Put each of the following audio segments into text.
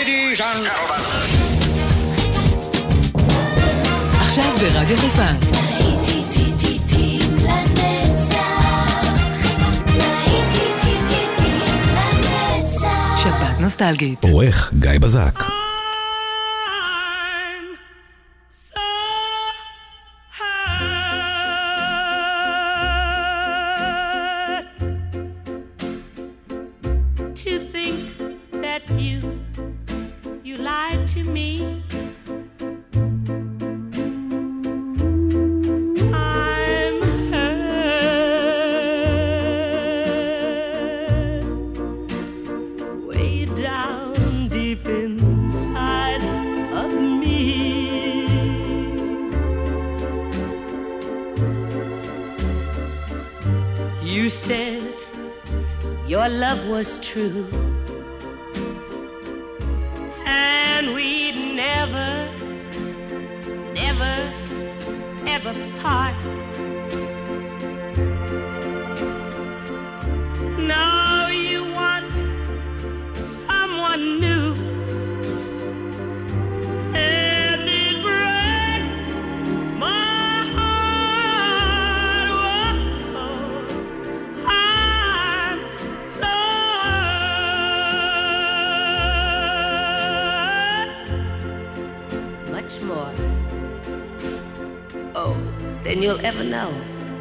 Ladies and gentlemen. עכשיו ברדיו חיפה. שבת נוסטלגית. עורך גיא בזק. Was true, and we'd never, never, ever part. Now you want someone new, and it breaks my heart. Whoa, I'm so more, oh, than you'll ever know.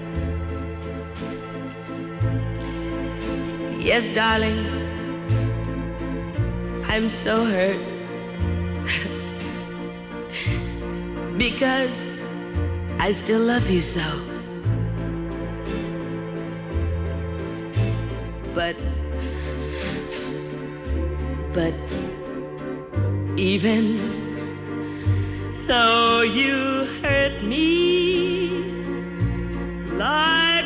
Yes, darling, I'm so hurt because I still love you so. But even though you hurt me like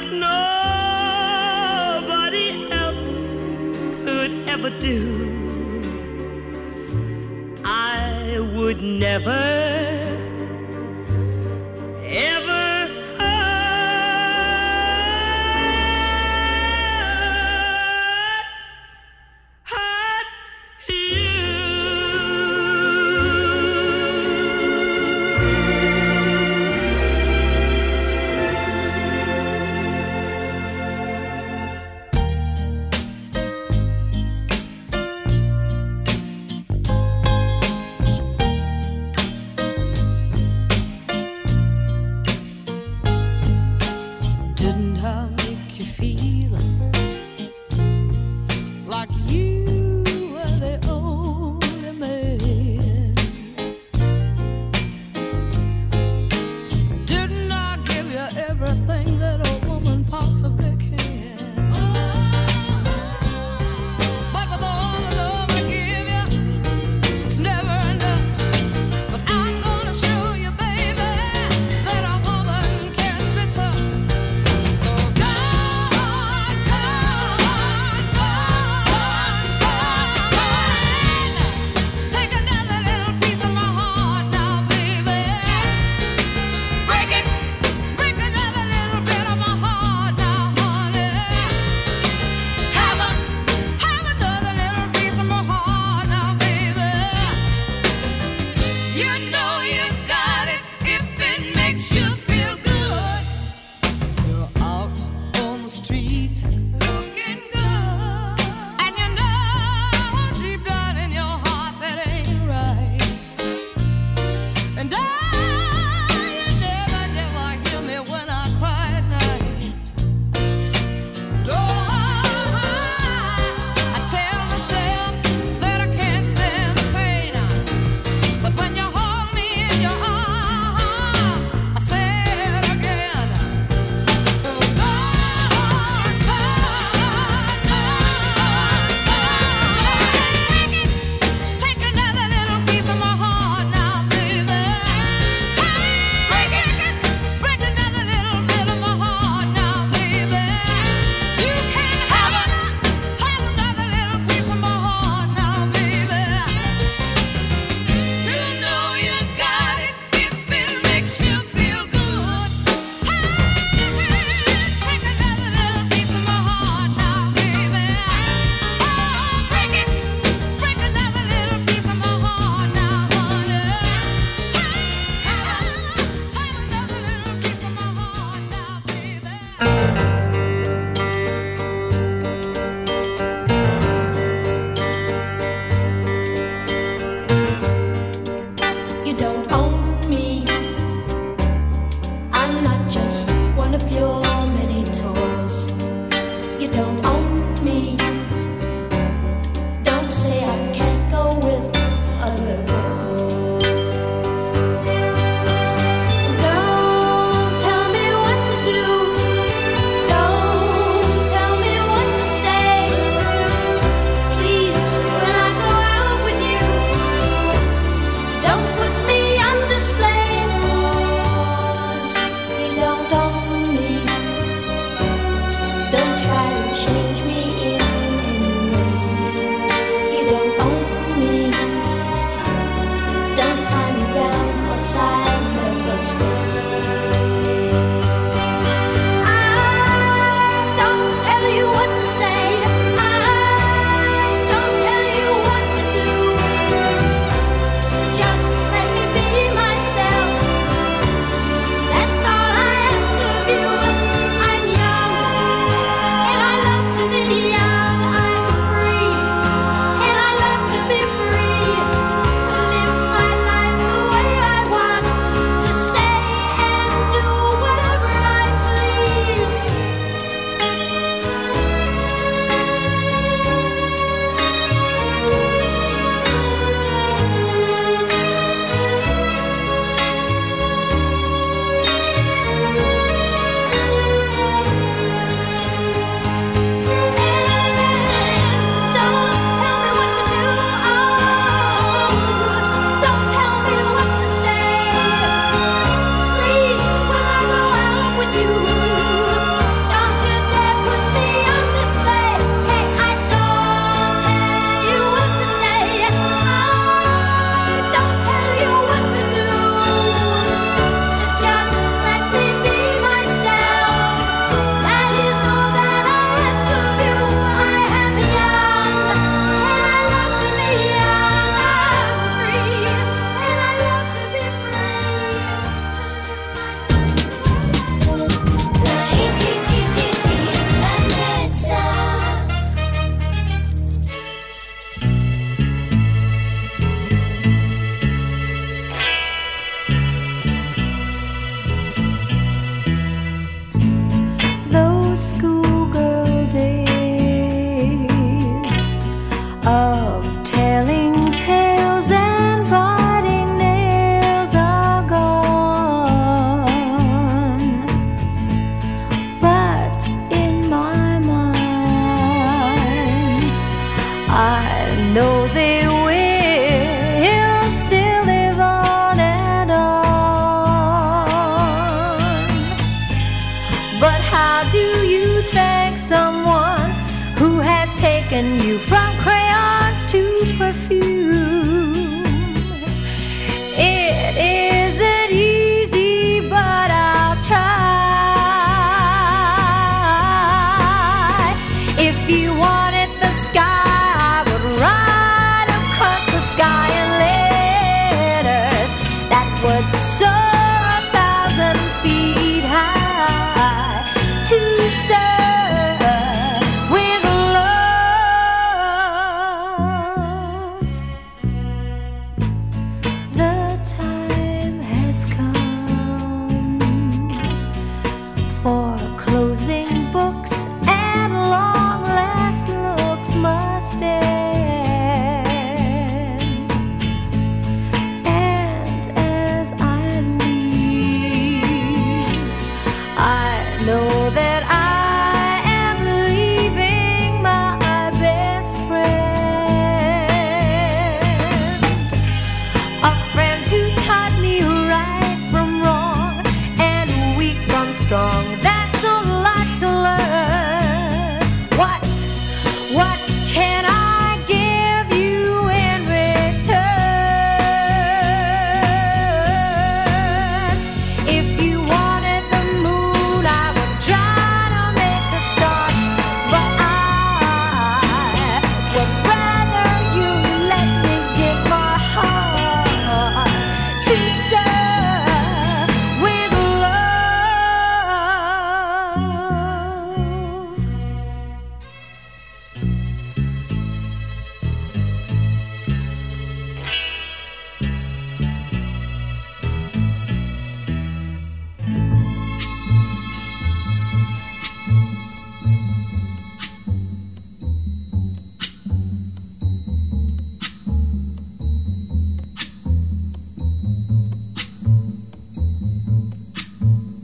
nobody else could ever do, I would never, ever hurt you.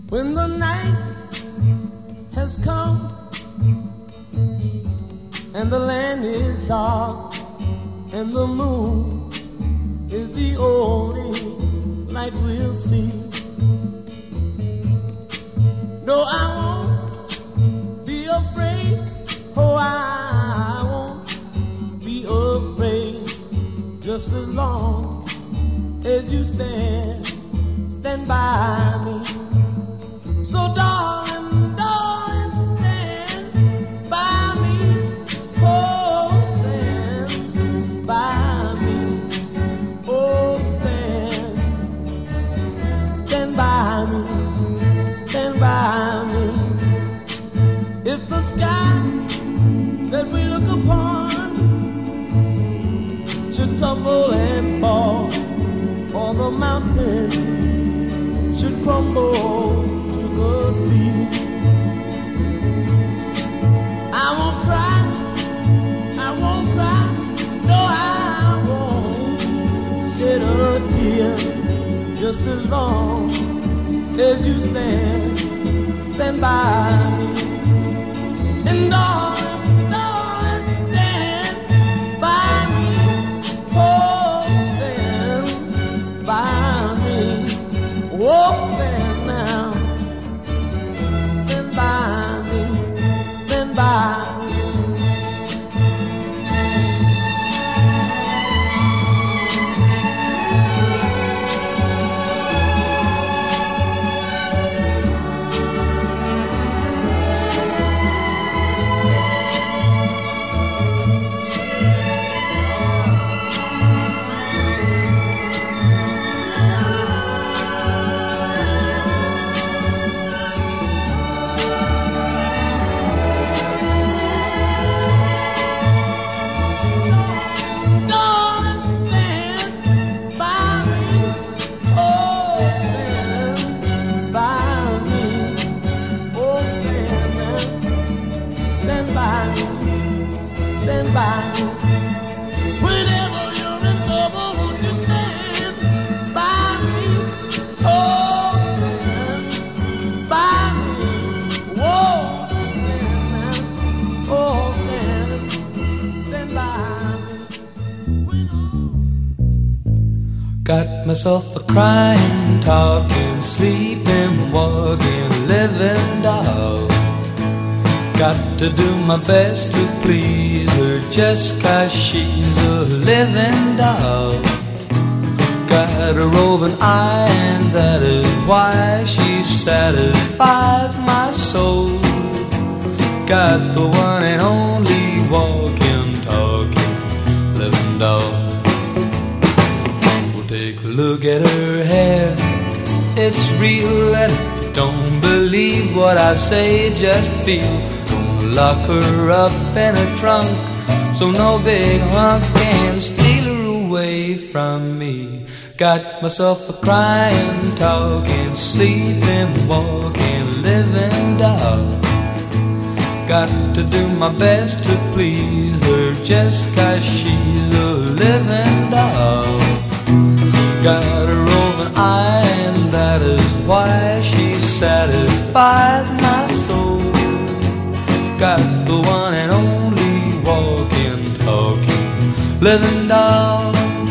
When the night has come and the land is dark and the moon is the only light we'll see. No, I won't be afraid. Oh, I won't be afraid. Just as long as you stand by me. So darling, darling, stand by me. Oh, stand by me. Oh, stand by me. Stand by me. If the sky that we look upon should tumble and fall, or the mountain should crumble to the sea, I won't cry, I won't cry, no, I won't shed a tear. Just as long as you stand by me. And darling, darling, stand by me. Oh, stand by me. Oh, stand now. Stand by me. Stand by me. Got myself a crying, talking, sleeping, walking, living doll. Got to do my best to please her just 'cause she's a living doll. Got a roving eye and that is why she satisfies my soul. Got the one and only walking, talking, living doll. Take a look at her hair, it's real, and if you don't believe what I say, just feel. Gonna lock her up in a trunk, so no big hunk can steal her away from me. Got myself a crying, talking, sleeping, walking, living doll. Got to do my best to please her just 'cause she's a living doll. Got a roving eye and that is why she satisfies my soul. Got the one and only walking, talking, living doll.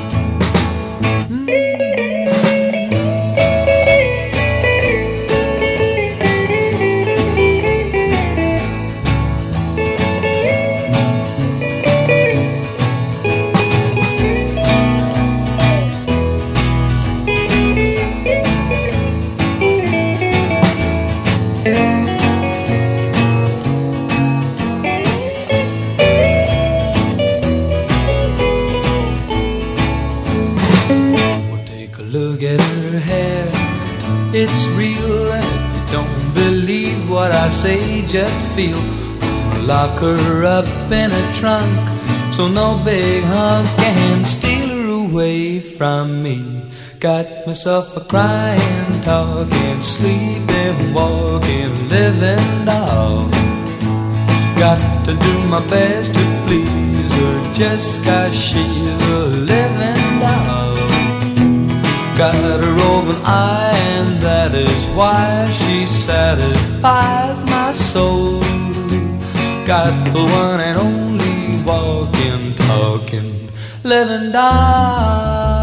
It's real, and if you don't believe what I say, just feel. Gonna lock her up in a trunk, so no big hunk can steal her away from me. Got myself a crying, talking, sleeping, walking, living doll. Got to do my best to please her just 'cause she's a living doll. Got a roving eye and that is why she satisfies my soul. Got the one and only walking, talking, living doll.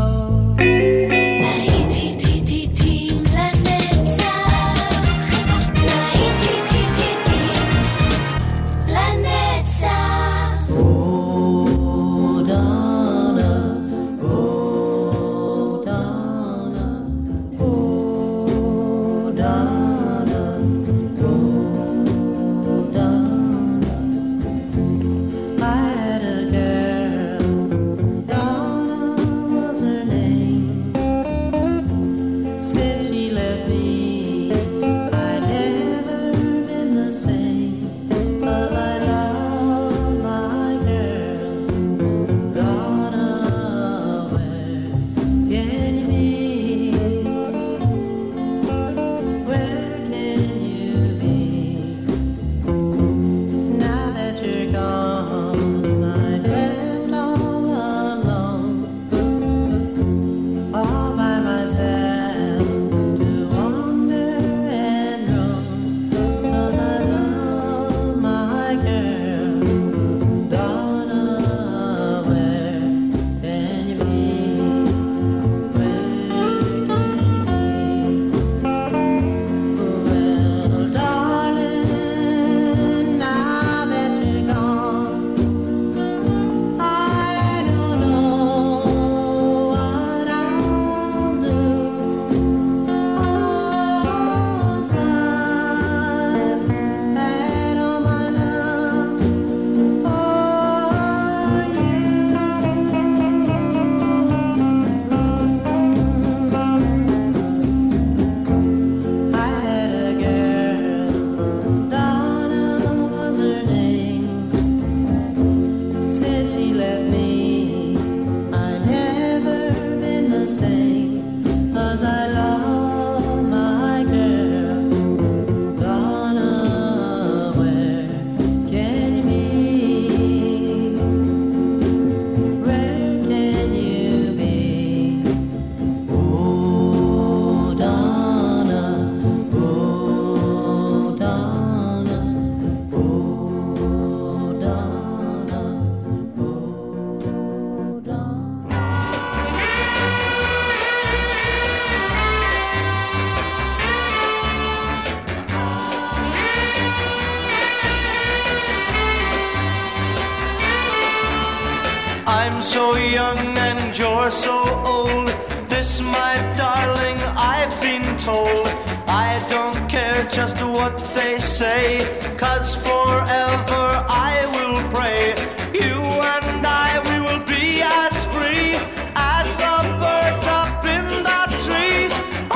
I'm so young and you're so old. This, my darling, I've been told. I don't care just what they say, 'cause forever I will pray. You and I, we will be as free as the birds up in the trees.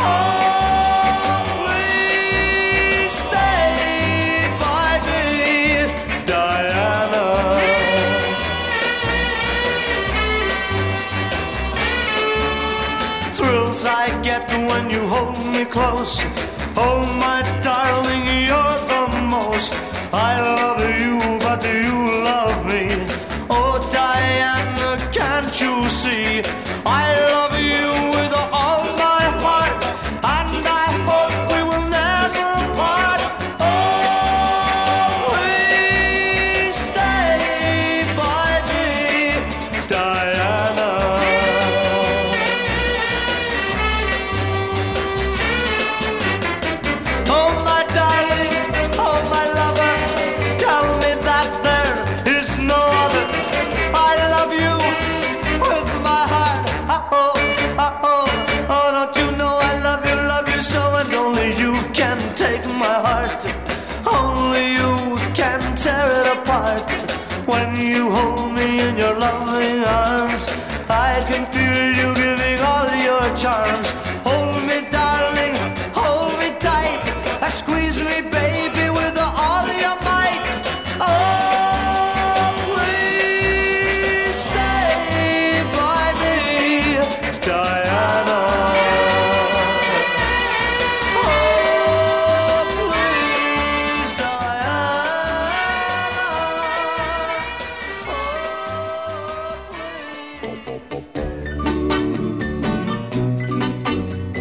Oh, please stay by me, Diana. Thrills I get when you hold me close. Oh, my darling, you're the most. I love you, but do you love me? Oh, Diana, can't you see? I love you with all my heart, and I hope we will never part. Oh, please stay by me, Diana. Oh, my darling, oh, my lover, tell me that there is no other. I love you with my heart. Oh, oh, oh, oh, don't you know I love you so, and only you can take my heart. Only you can tear it apart. When you hold me in your loving arms, I can feel you giving all your charms. Hold me, darling, hold me tight. Squeeze me, baby, with all your might. Oh, please stay by me, Diana. Oh, please, Diana. Oh, please.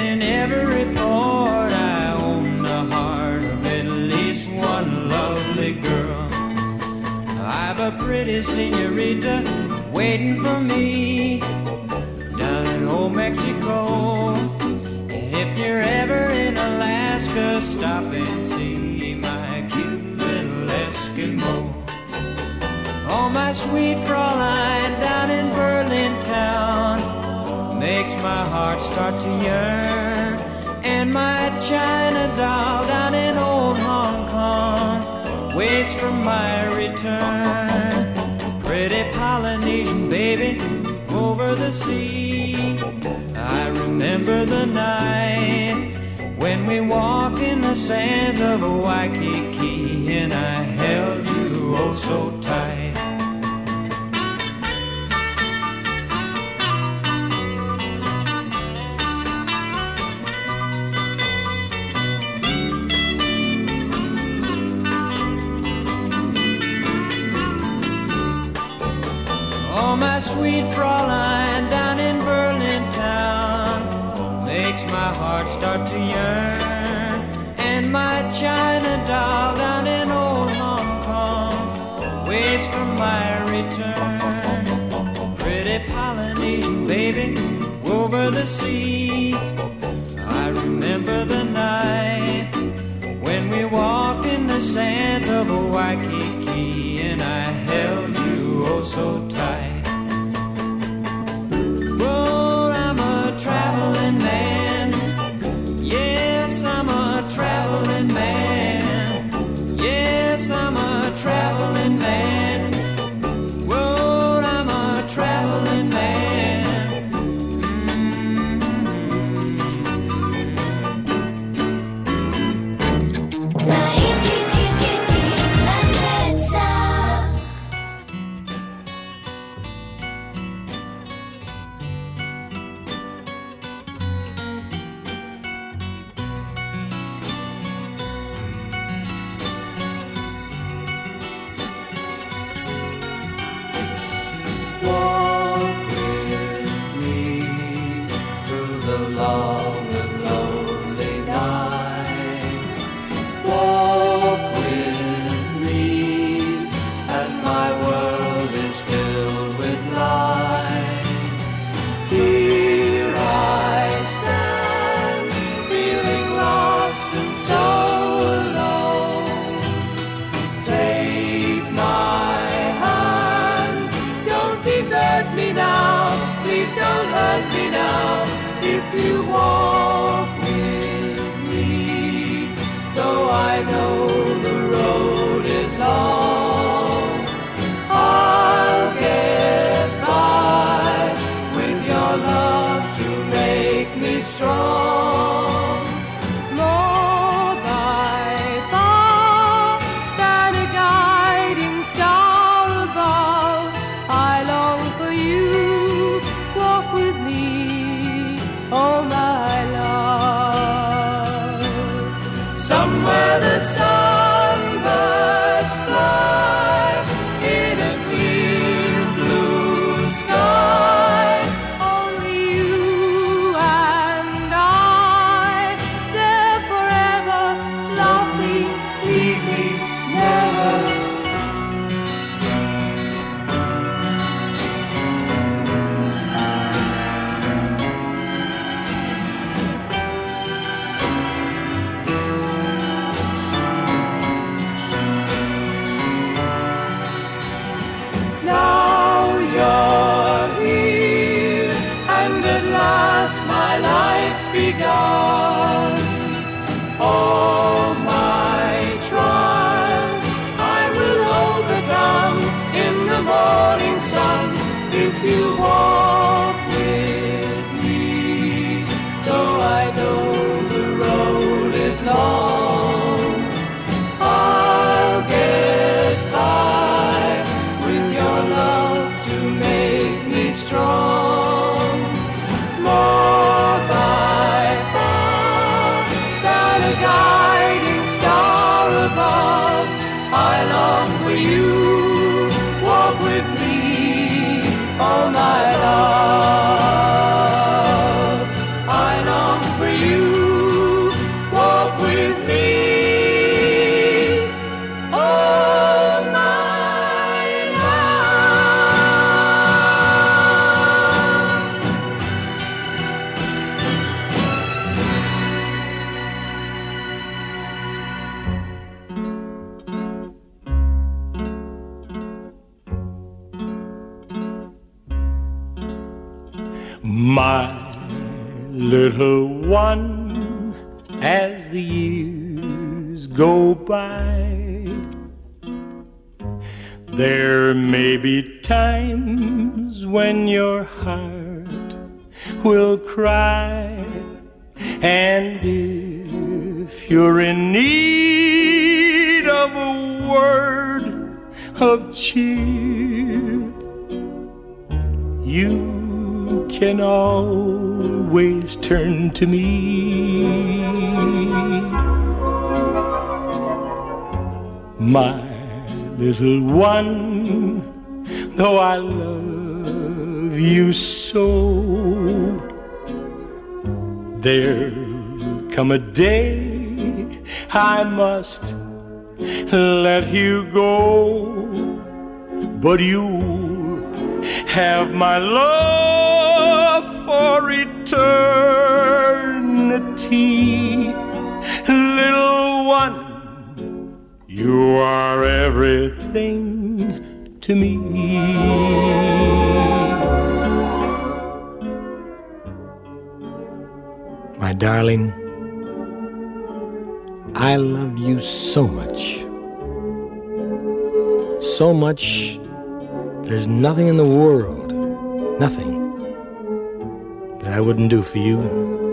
in every port I own the heart of at least one lovely girl. I've a pretty senorita waiting for me down in old Mexico. And if you're ever in Alaska, stop and see my cute little Eskimo. Oh, my sweet Fraulein down in Berlin town makes my heart start to yearn. And my China doll down in old Hong Kong waits for my return. Pretty Polynesian baby over the sea, I remember the night when we walk in the sands of Waikiki, and I held you oh so tight. Oh, my sweet Fraulein down in Berlin town makes my heart start to yearn. And my China doll down in old Hong Kong waits for my return. Pretty Polynesian baby over the sea, I remember the night when we walked in the sands of Waikiki, and I held you oh so tight. Traveling man, yes, I'm a traveling man. Yes, I'm a traveling man. Whoa, I'm a traveling man. La bellezza. begun. All my trials I will overcome in the morning sun if you walk with me. Though I know the road is long, I'll get by with your love to make me strong. More by far than a guide. for you. Walk with me. My little one, as the years go by, there may be times when your heart will cry, and if you're in need of a word of cheer, you can always turn to me. My little one, though I love you so, there'll come a day I must let you go, but you'll have my love for eternity. Little one, you are everything to me. My darling, I love you so much. So much, there's nothing in the world, nothing, that I wouldn't do for you.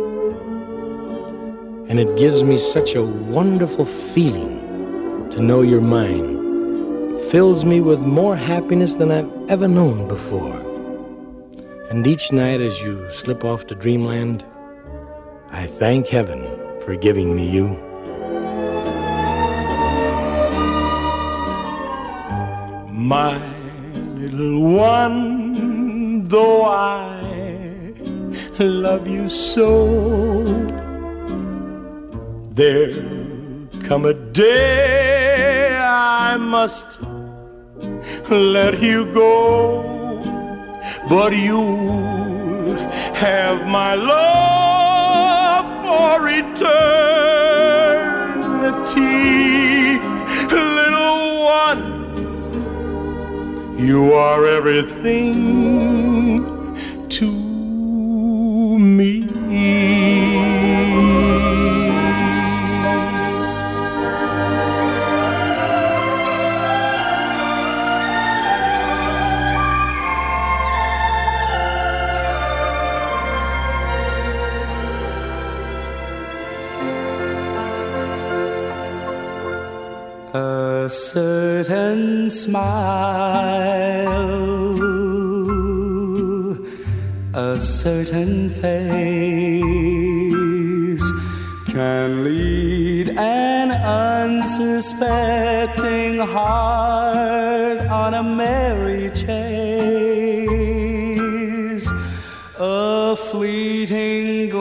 And it gives me such a wonderful feeling to know you're mine. Fills me with more happiness than I've ever known before. And each night as you slip off to dreamland, I thank heaven for giving me you. My little one, though I love you so, there'll come a day I must let you go, but you'll have my love for eternity. Little one, you are everything to me. A certain smile, a certain face can lead an unsuspecting heart on a merry chase. A fleeting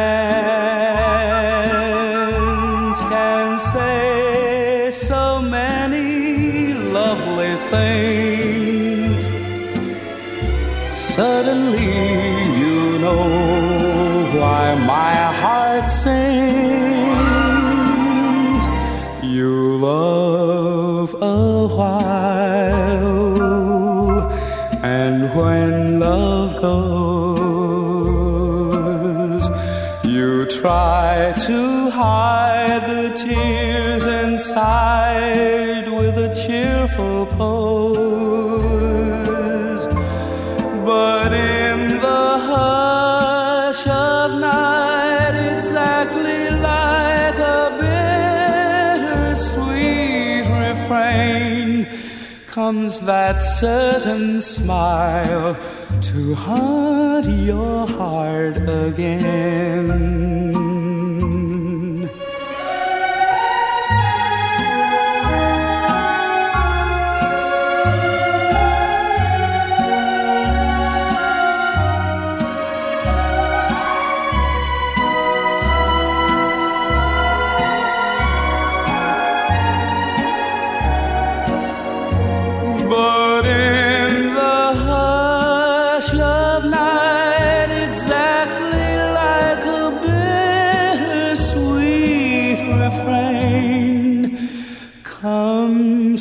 glance can say so many lovely things. Suddenly you know why my heart sings. You love a while, and when love goes, you try to hide the tears inside with a cheerful pose. But in the hush of night, exactly like a bittersweet refrain, comes that certain smile to haunt your heart again.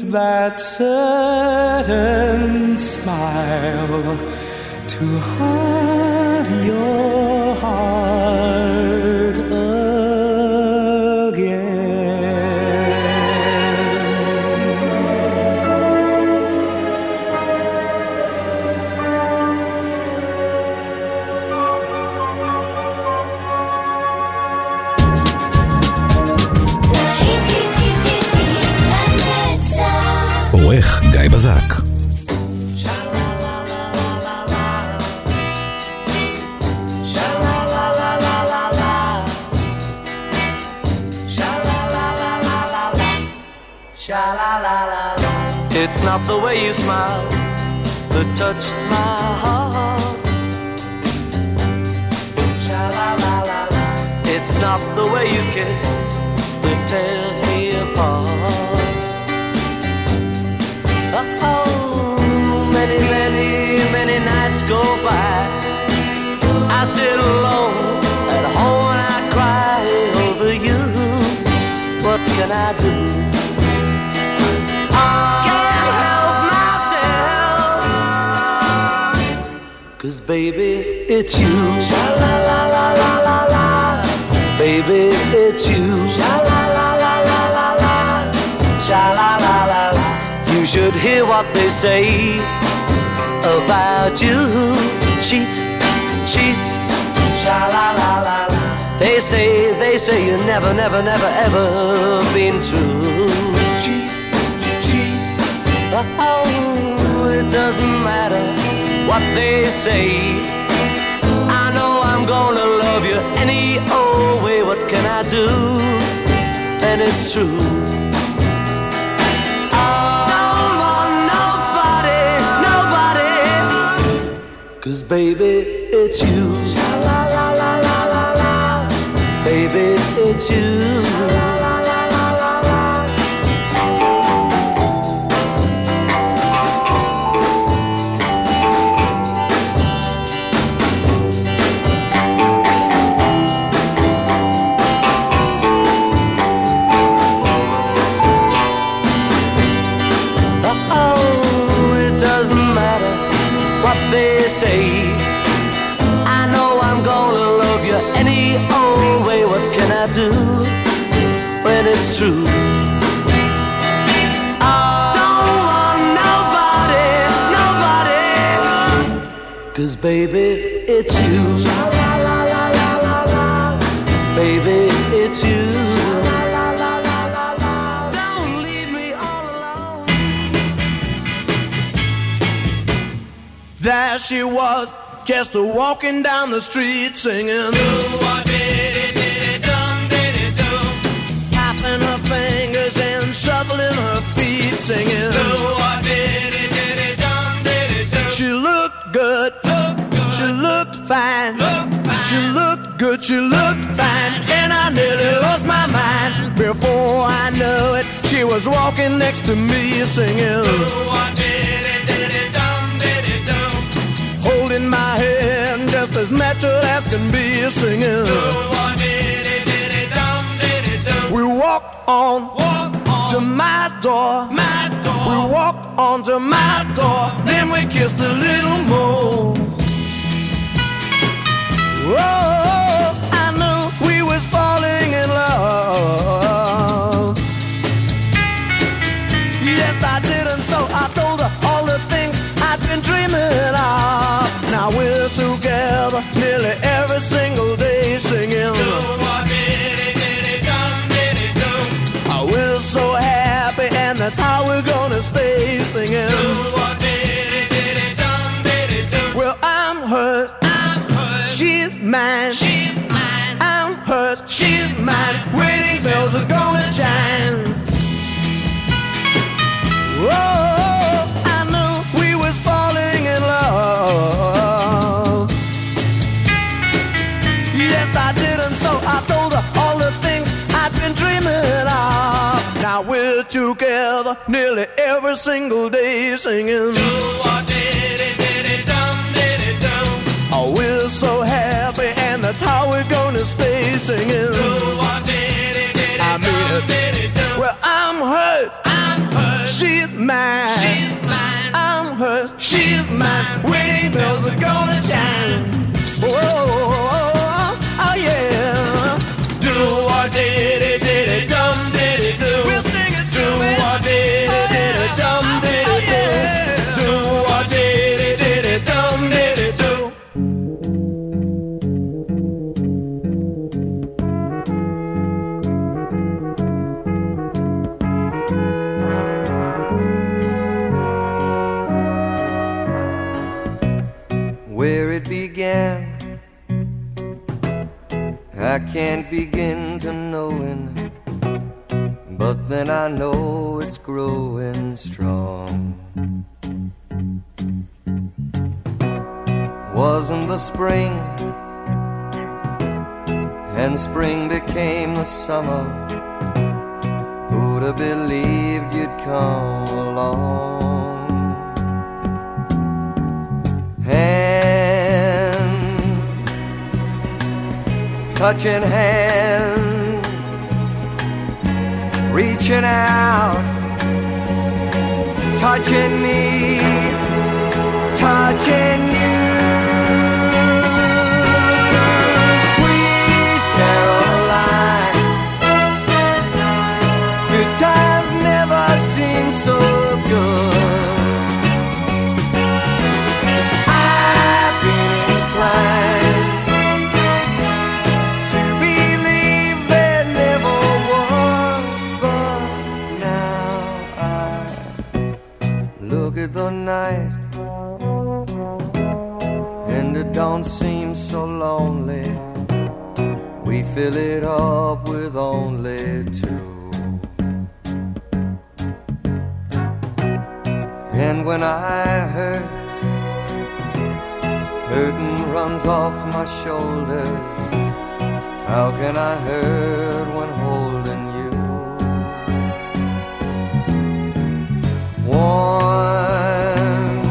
that certain smile to haunt your heart again. עורך גיא בזק. It's not the way you smile that touched my heart. Sha-la-la-la-la. It's not the way you kiss that tears me apart. Oh, many, many, many nights go by. I sit alone at home and I cry over you. What can I do? Cause baby, it's you. Sha-la-la-la-la-la-la. Baby, it's you. Sha-la-la-la-la-la-la. Sha-la-la-la-la. You should hear what they say about you. Cheat, cheat. Sha-la-la-la-la. They say you never, never, never, ever been true. Cheat, cheat. Oh, it doesn't matter what they say. I know I'm gonna love you any old way. What can I do? And it's true. I don't want nobody, nobody. Cause baby, it's you. Sha-la-la-la-la-la-la. Baby, it's you. Say, I know I'm gonna love you any old way. What can I do when it's true? I don't want nobody, nobody. Cause baby, it's you. Sha-la-la-la-la-la-la. Baby, it's you. Don't leave me all alone. There she was, just walking down the street singing. Tapping her fingers and shuffling her feet singing. She looked good, she looked fine, she looked good, she looked fine, and I nearly lost my mind. Before I knew it, she was walking next to me singing. Holding my hand just as natural as can be singing. We walked on to my door. We walked on to my door. Then we kissed a little more. Oh, I knew we was falling in love. Yes, I did, and so I told her all the things I've been dreaming of. Now we're together nearly every single day singing. We're so happy and that's how we're gonna stay singing. Well, I'm hers, she's mine, I'm hers, she's mine. Wedding bells are gonna chime. Whoa, I knew we was falling in love. Yes, I did, and so I told her all the things I'd been dreaming of. Now we're together nearly every single day singing. Oh, we're so happy, and that's how we're gonna stay singing. I mean it. Well, I'm hers, she's bells are gonna chime. Oh, oh yeah. Do what diddy diddy dum diddy do. We'll sing it. Do what diddy diddy dum diddy do. Do what diddy diddy dum diddy do. Where it began, I can't begin to knowing, but then I know it's growing strong. Wasn't the spring, and spring became the summer. Who'd have believed you'd come along? Touching hands, reaching out, touching me, touching you. Sweet Caroline, good times never seem so good. I've been inclined at the night, and it don't seem so lonely. We fill it up with only two. And when I hurt, hurting runs off my shoulders. How can I hurt when holding you? Warm,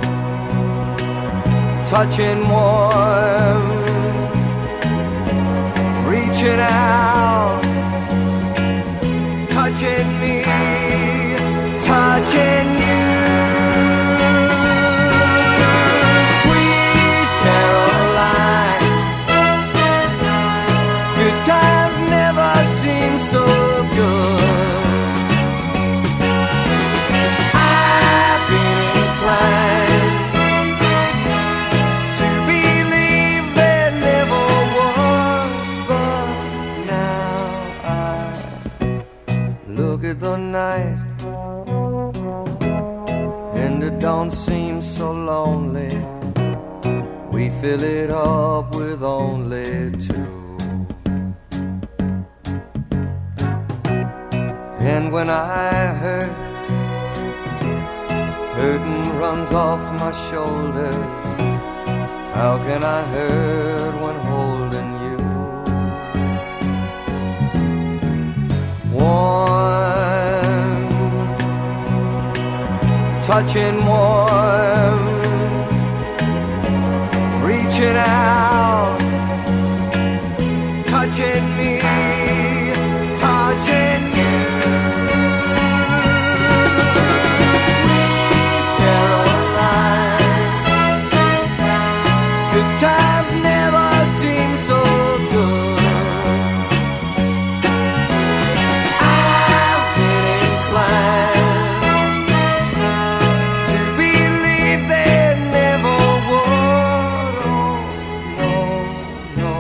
touching warm, reaching out, touching me, touching you. Sweet Caroline, good times never seem so good. I've been inclined to believe there never was, but now I look at the night, and it don't seem so lonely. We fill it up with only two. And when I hurt, hurting runs off my shoulders. How can I hurt when holding you? Warm, touching warm, reaching out, touching me, touching you. Times never seem so good. I've been inclined to believe there never would. Oh, no,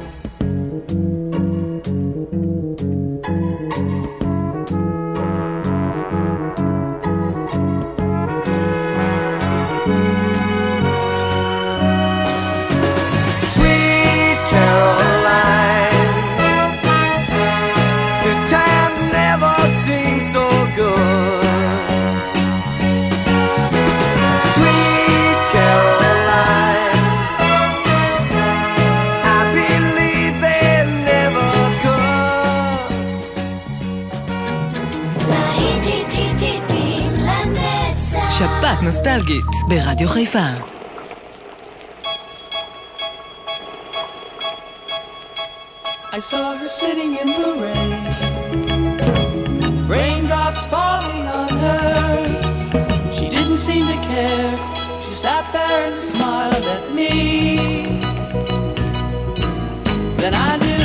שפעת נוסטלגית ברדיו חיפה. I saw her sitting in the rain, raindrops falling on her. She didn't seem to care. She sat there and smiled at me. Then I knew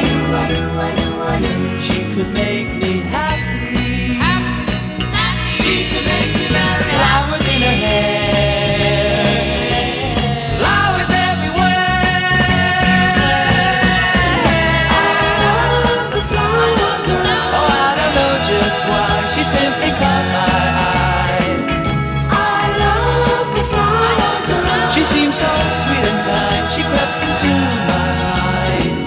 she could make me happy. She could make me very happy. Flowers in her hair, flowers everywhere. I love the flower girl. Oh, I don't know just why, she simply caught my eye. I love the flower girl. She seemed so sweet and kind, she crept into my mind.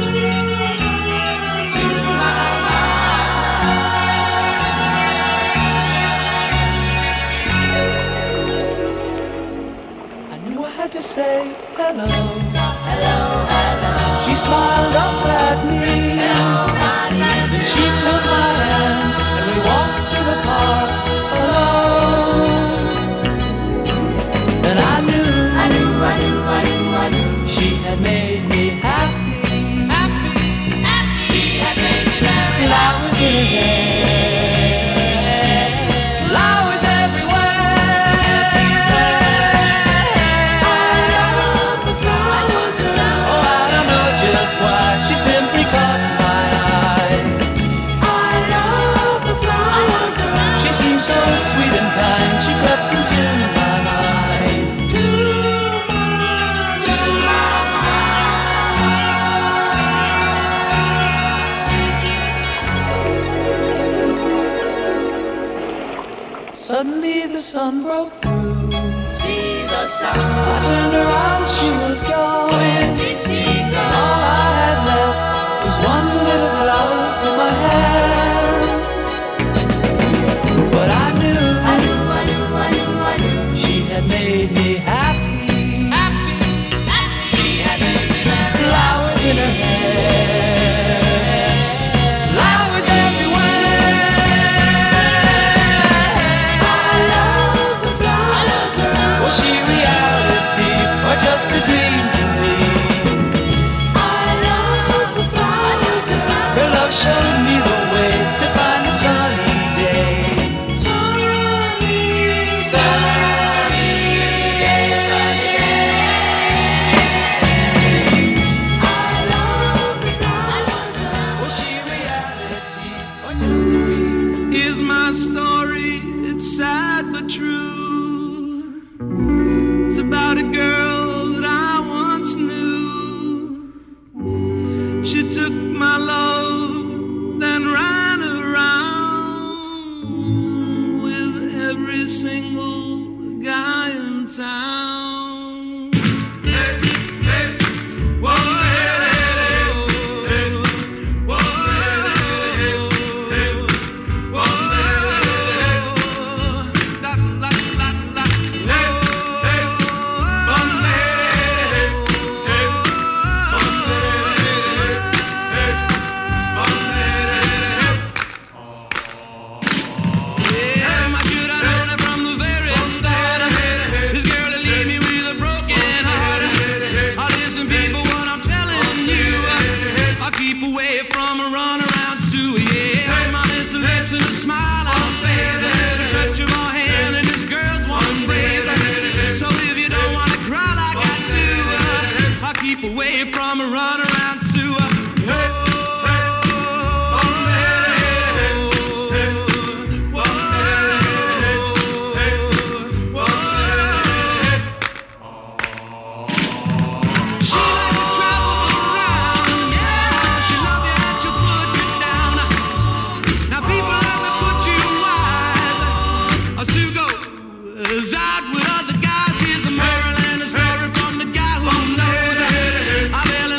To say hello, hello, hello. She smiled up at me. Hello, then she took my hand and we walked through the park alone. Then I knew she had made me happy. She had made me happy. Flowers in her hair, flowers why she simply caught my eye. I love the flower girl. She seemed so sweet and kind, she crept into my mind. To my mind. Suddenly the sun broke through. See the sun. I turned around, she was gone. Where did she go? All I had left was one little flower in my hand. But I knew she had made me happy. She had made me happy. Flowers in her hair, flowers everywhere. I love the flower girl. Was she reality or just a dream to me? Her love showed me the way to find a sunny day. Sunny day, sunny day. I love the flower girl. Was she reality or just a dream? Here's my story, it's sad but true. It's about a girl that I once knew. She took my love, then ran around with every single guy in town. Hey, hey, whoa, hey, hey, hey, whoa, hey, hey, whoa, la, la, la, la, hey, hey, away from a runaround sewer. Out with other guys, here's the moral and the story from the guy who knows. I barely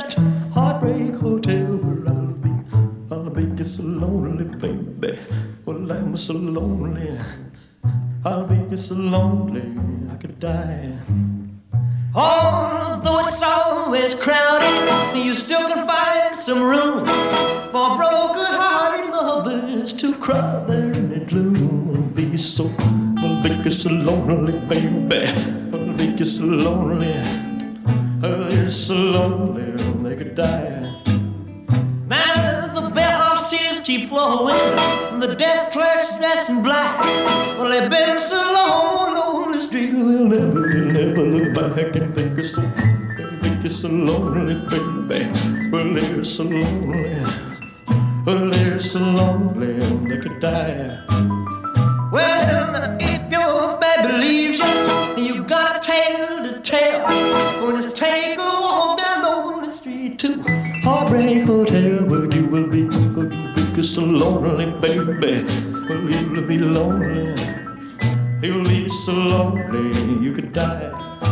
just Heartbreak Hotel where I'll be just so lonely, baby. Well, I'm so lonely. I'll be just so lonely I could die. Although it's always crowded, you still can find some room for broken-hearted lovers to cry there in the gloom. Be so, I'll be so lonely, baby. I'll be so lonely. I'll be so lonely they could die. Now the bellhop's tears keep flowing, the desk clerk's dressed in black. Well, they've been so long on the street, they'll never look back and think it's so lonely, baby. Well, they're so lonely. Well, they're so lonely they could die. Well, if your baby leaves you, you got a tale to tell. Well, just take a walk down on the street to Heartbreak Hotel, where you will be so lonely, baby. Well, you'll be lonely. You'll be so lonely you could die.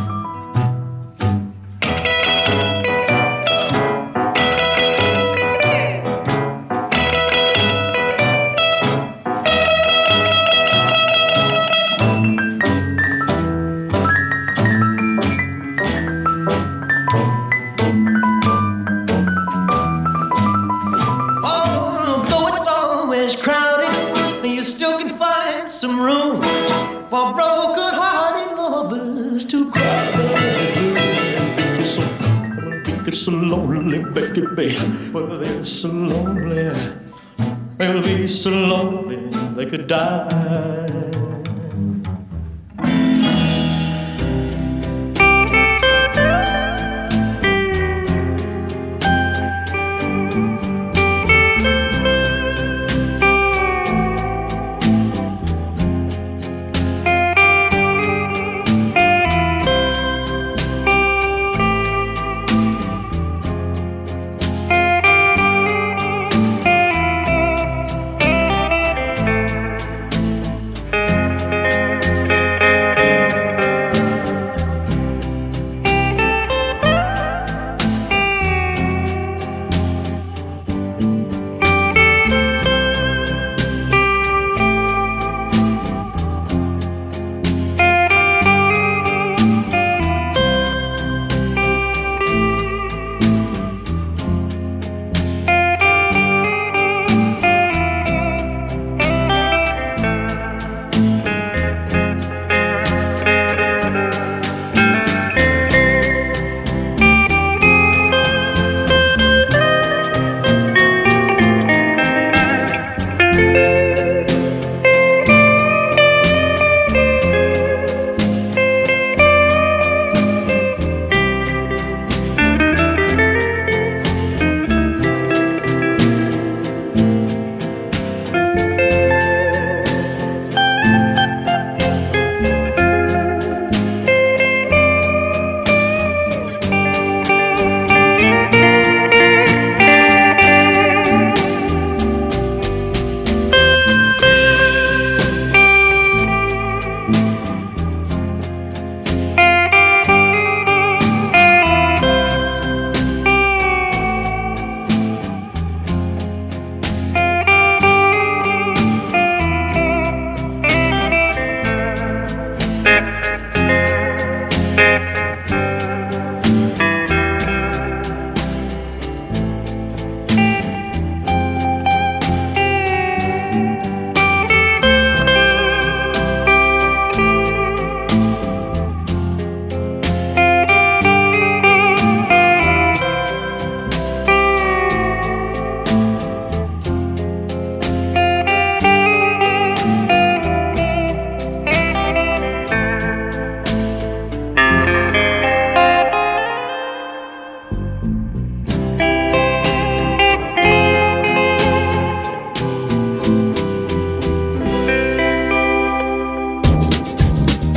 For broken-hearted lovers to cry. Be so lonely, baby. Well, they're so lonely. They'll be so lonely they could die.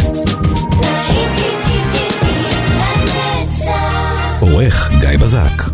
עורך גיא בזק.